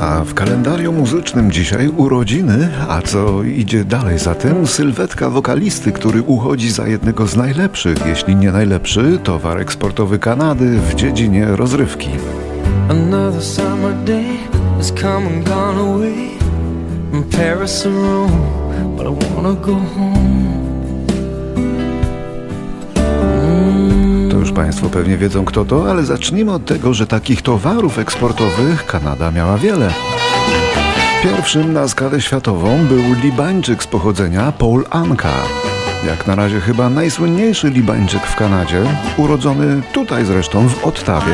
A w kalendarium muzycznym dzisiaj urodziny, a co idzie dalej za tym, sylwetka wokalisty, który uchodzi za jednego z najlepszych, jeśli nie najlepszy, towar eksportowy Kanady w dziedzinie rozrywki. Another summer day has come and gone away from Paris or Rome, but I wanna go home. Już Państwo pewnie wiedzą kto to, ale zacznijmy od tego, że takich towarów eksportowych Kanada miała wiele. Pierwszym na skalę światową był Libańczyk z pochodzenia Paul Anka. Jak na razie chyba najsłynniejszy Libańczyk w Kanadzie, urodzony tutaj zresztą w Ottawie.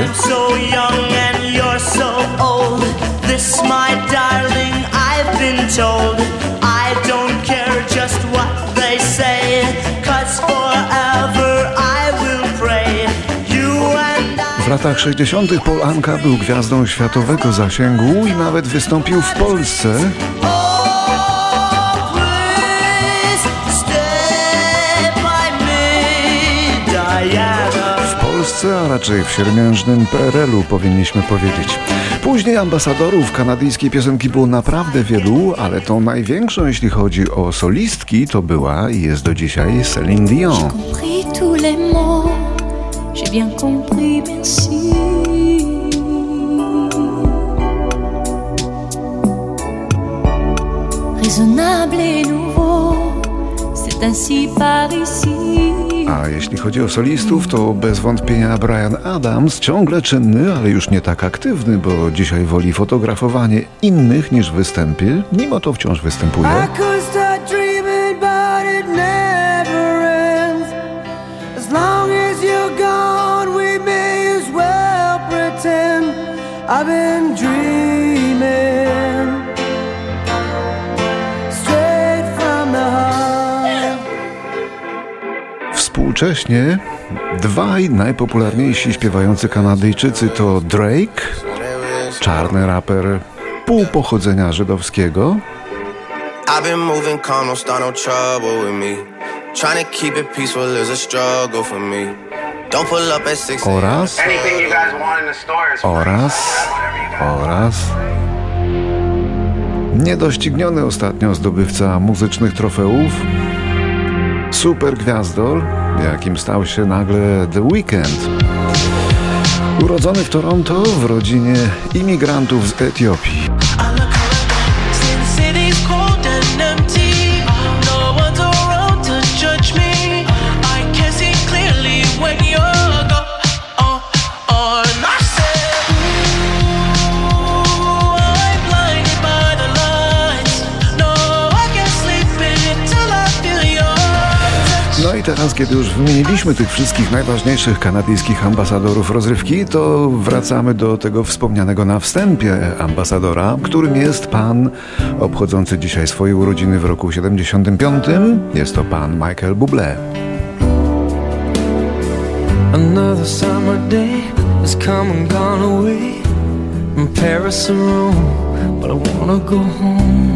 W latach 60. Paul Anka był gwiazdą światowego zasięgu i nawet wystąpił w Polsce. W Polsce, a raczej w siermiężnym PRL-u powinniśmy powiedzieć. Później ambasadorów kanadyjskiej piosenki było naprawdę wielu, ale tą największą, jeśli chodzi o solistki, to była i jest do dzisiaj Céline Dion. J'ai bien compris, merci. Raisonnable et nouveau, c'est ainsi par ici. A jeśli chodzi o solistów, to bez wątpienia Bryan Adams, ciągle czynny, ale już nie tak aktywny, bo dzisiaj woli fotografowanie innych niż występy, mimo to wciąż występuje. I've been dreaming straight from the heart. Współcześnie dwaj najpopularniejsi śpiewający Kanadyjczycy to Drake, czarny raper pół pochodzenia żydowskiego, I've been moving calm, don't start no trouble with me. Trying to keep it peaceful is a struggle for me. oraz niedościgniony ostatnio zdobywca muzycznych trofeów, super gwiazdor, jakim stał się nagle The Weeknd. Urodzony w Toronto w rodzinie imigrantów z Etiopii. No i teraz, kiedy już wymieniliśmy tych wszystkich najważniejszych kanadyjskich ambasadorów rozrywki, to wracamy do tego wspomnianego na wstępie ambasadora, którym jest pan obchodzący dzisiaj swoje urodziny w roku 75. Jest to pan Michael Bublé. Another summer day has come and gone away from Paris or Rome, but I wanna go home.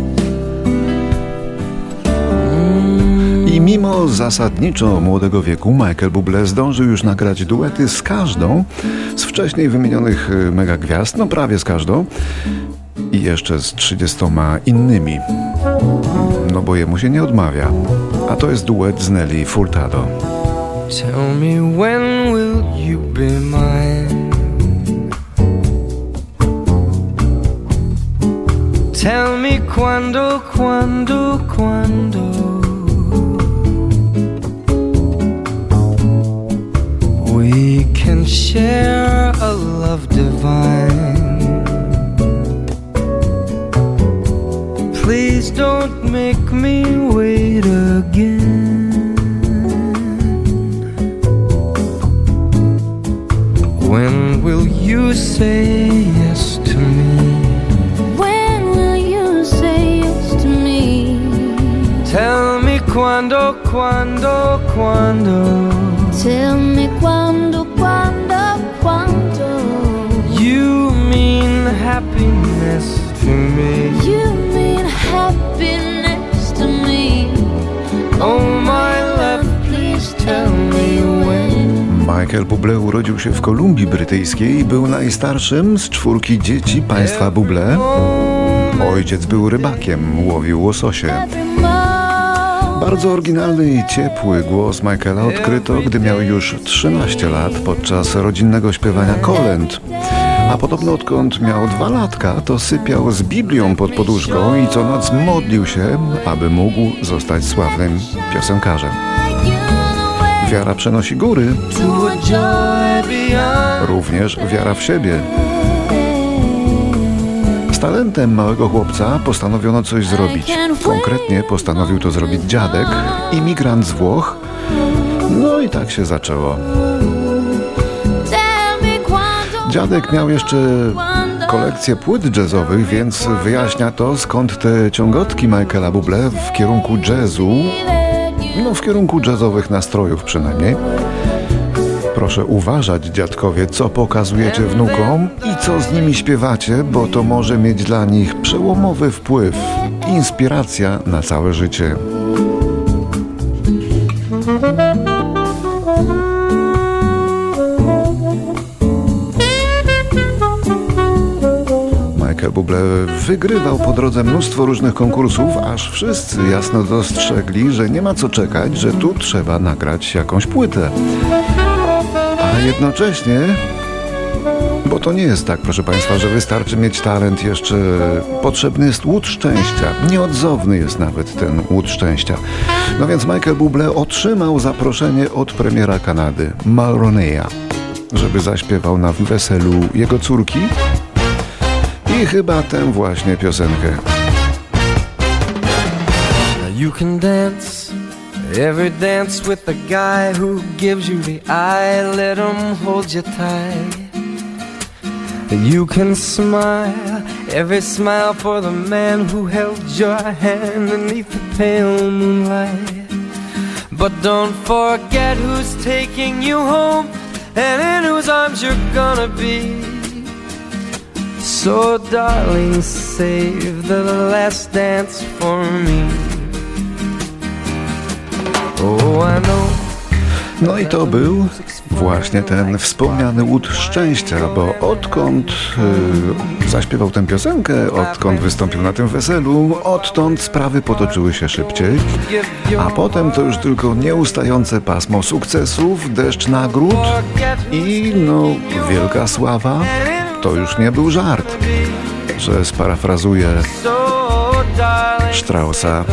I mimo zasadniczo młodego wieku Michael Bublé zdążył już nagrać duety z każdą z wcześniej wymienionych megagwiazd, no prawie z każdą i jeszcze z 30 innymi. No bo jemu się nie odmawia. A to jest duet z Nelly Furtado. Tell me when will you be mine? Tell me quando, quando, quando we can share a love divine. Please don't make me wait again. When will you say yes to me? When will you say yes to me? Tell me quando, quando, quando. Tell me quando, quando, quando. You mean happiness to me. You mean happiness to me. Oh my love, please tell me when. Michael Bublé urodził się w Kolumbii Brytyjskiej i był najstarszym z 4 dzieci państwa Bublé. Ojciec był rybakiem, łowił łososie. Bardzo oryginalny i ciepły głos Michaela odkryto, gdy miał już 13 lat podczas rodzinnego śpiewania kolęd. A podobno odkąd miał 2 latka, to sypiał z Biblią pod poduszką i co noc modlił się, aby mógł zostać sławnym piosenkarzem. Wiara przenosi góry, również wiara w siebie. Z talentem małego chłopca postanowiono coś zrobić. Konkretnie postanowił to zrobić dziadek, imigrant z Włoch. No i tak się zaczęło. Dziadek miał jeszcze kolekcję płyt jazzowych, więc wyjaśnia to, skąd te ciągotki Michaela Bublé w kierunku jazzu, no w kierunku jazzowych nastrojów przynajmniej. Proszę uważać, dziadkowie, co pokazujecie wnukom i co z nimi śpiewacie, bo to może mieć dla nich przełomowy wpływ. Inspiracja na całe życie. Michael Bublé wygrywał po drodze mnóstwo różnych konkursów, aż wszyscy jasno dostrzegli, że nie ma co czekać, że tu trzeba nagrać jakąś płytę. A jednocześnie, bo to nie jest tak, proszę Państwa, że wystarczy mieć talent, jeszcze potrzebny jest łód szczęścia. Nieodzowny jest nawet ten łód szczęścia. No więc Michael Bublé otrzymał zaproszenie od premiera Kanady, Mulroneya, żeby zaśpiewał na weselu jego córki i chyba tę właśnie piosenkę. You can dance every dance with the guy who gives you the eye. Let him hold you tight. You can smile every smile for the man who held your hand beneath the pale moonlight. But don't forget who's taking you home and in whose arms you're gonna be. So darling, save the last dance for me. No i to był właśnie ten wspomniany łód szczęścia, bo odkąd zaśpiewał tę piosenkę, odkąd wystąpił na tym weselu, odtąd sprawy potoczyły się szybciej, a potem to już tylko nieustające pasmo sukcesów, deszcz nagród i no wielka sława. To już nie był żart, że sparafrazuję Straussa.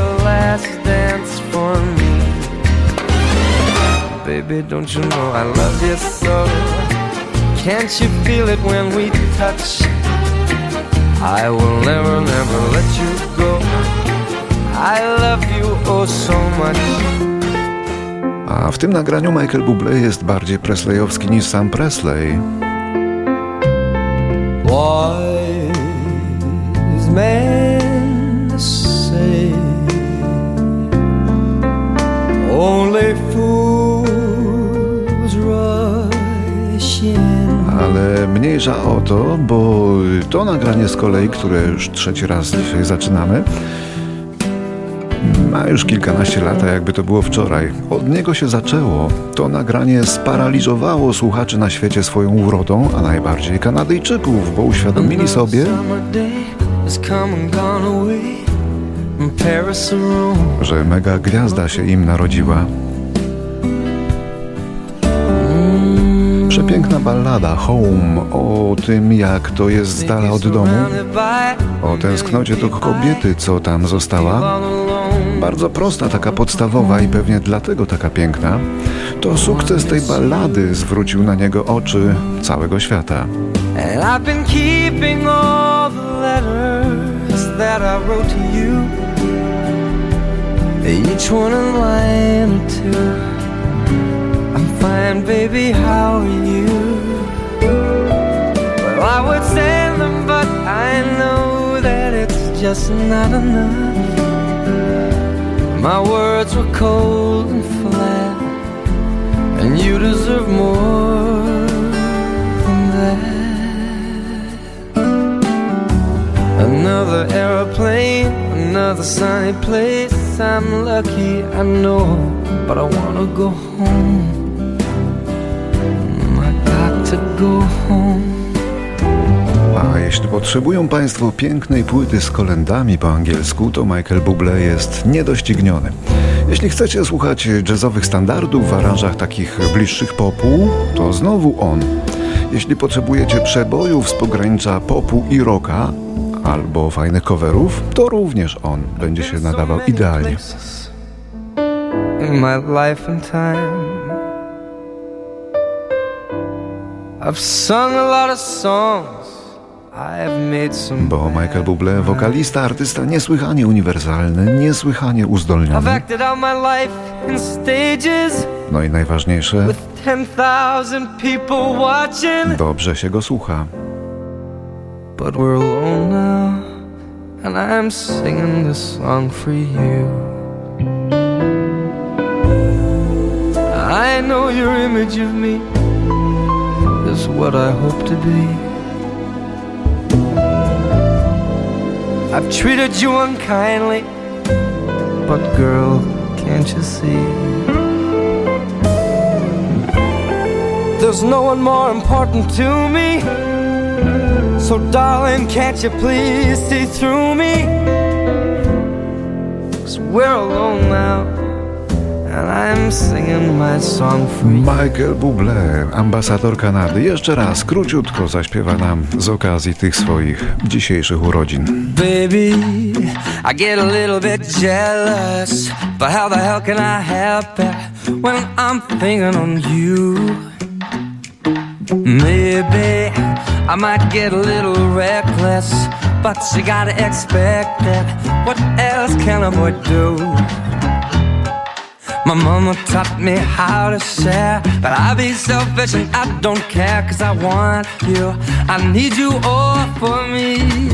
Baby, don't you know I love you so? Can't you feel it when we touch? I will never, never let you go. I love you oh so much. A w tym nagraniu Michael Bublé jest bardziej presleyowski niż sam Presley. Wise men say only fools rush in. Ale mniejsza o to, bo to nagranie z kolei, które już 3. raz dzisiaj zaczynamy, ma już kilkanaście lat, jakby to było wczoraj. Od niego się zaczęło. To nagranie sparaliżowało słuchaczy na świecie swoją urodą, a najbardziej Kanadyjczyków, bo uświadomili sobie, że mega gwiazda się im narodziła. Przepiękna ballada Home, o tym, jak to jest z dala od domu, o tęsknocie do kobiety, co tam została. Bardzo prosta, taka podstawowa i pewnie dlatego taka piękna. To sukces tej ballady zwrócił na niego oczy całego świata. Fine, baby, how are you? Well, I would send them, but I know that it's just not enough. My words were cold and flat, and you deserve more than that. Another airplane, another sunny place. I'm lucky, I know, but I wanna go home. to go home. A jeśli potrzebują Państwo pięknej płyty z kolędami po angielsku, to Michael Bublé jest niedościgniony. Jeśli chcecie słuchać jazzowych standardów w aranżach takich bliższych popu, to znowu on. Jeśli potrzebujecie przebojów z pogranicza popu i rocka, albo fajnych coverów, to również on będzie się nadawał idealnie. In my life and time, I've sung a lot of songs, I've made some. Bo Michael Bublé, wokalista, artysta niesłychanie uniwersalny, niesłychanie I've uzdolniony. acted out my life in stages No i najważniejsze, with 10,000 people watching. dobrze się go słucha. But we're alone now, and I'm singing this song for you. I know your image of me is what I hope to be. I've treated you unkindly, but girl, can't you see? There's no one more important to me. So darling, can't you please see through me? 'Cause we're alone now, and I'm singing my song for you. Michael Bublé, ambasador Kanady, jeszcze raz króciutko zaśpiewa nam z okazji tych swoich dzisiejszych urodzin. Baby, I get a little bit jealous, but how the hell can I help it when I'm thinking on you? Maybe I might get a little reckless, but you gotta expect it. What else can a boy do? My mama taught me how to share, but I be selfish and I don't care, 'cause I want you, I need you all for me.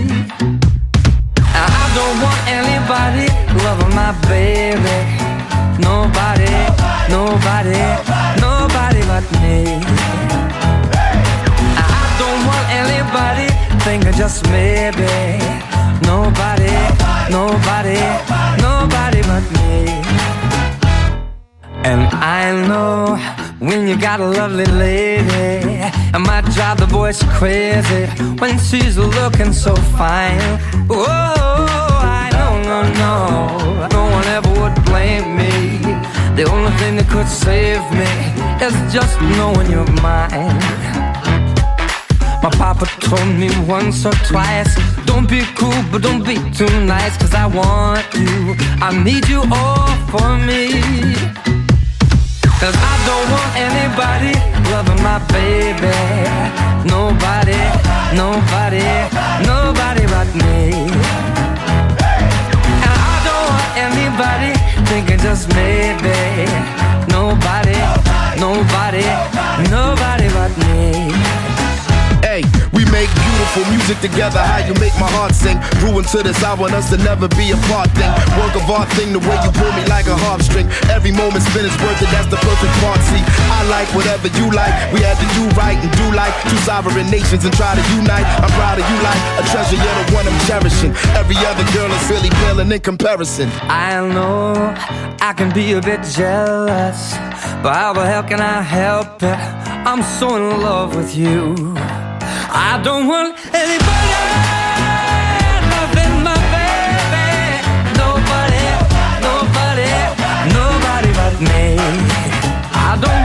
And I don't want anybody loving my baby. Nobody, nobody, nobody but me. Anybody thinking just maybe. Nobody, nobody, nobody but me. And I know when you got a lovely lady, it might drive the boys crazy when she's looking so fine. Oh, I know, no one ever would blame me. The only thing that could save me is just knowing you're mine. My papa told me once or twice, don't be cool, but don't be too nice, 'cause I want you, I need you all for me. 'Cause I don't want anybody loving my baby. Nobody, nobody, nobody but me. And I don't want anybody thinking just maybe. Nobody, nobody, nobody but me. Hey, we make beautiful music together. How you make my heart sing. Grew into this, I want us to never be apart thing. Work of art thing, the way you pull me like a harp string. Every moment spent is worth it, that's the perfect part. See, I like whatever you like. We had to do right and do like two sovereign nations and try to unite. I'm proud of you like a treasure, you're the one I'm cherishing. Every other girl is really paling in comparison. I know I can be a bit jealous, but how the hell can I help it? I'm so in love with you. I don't want anybody loving my baby. Nobody, nobody, nobody but me. I don't